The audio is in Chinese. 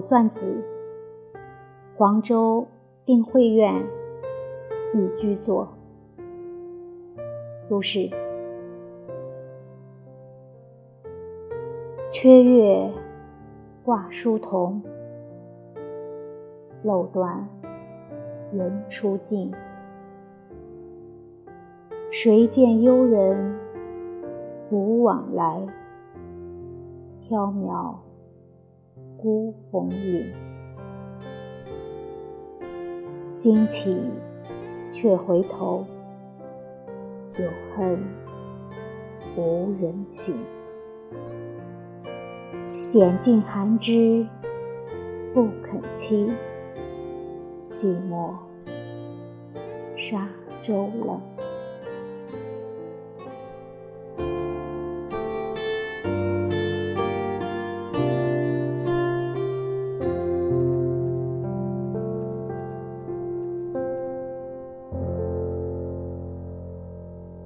算子，黄州定慧院寓居作。苏轼。缺月挂疏桐，漏断人初静。谁见幽人独往来，缥缈孤鸿影。惊起却回头，有恨无人省。点尽寒枝不肯栖，寂寞沙洲冷。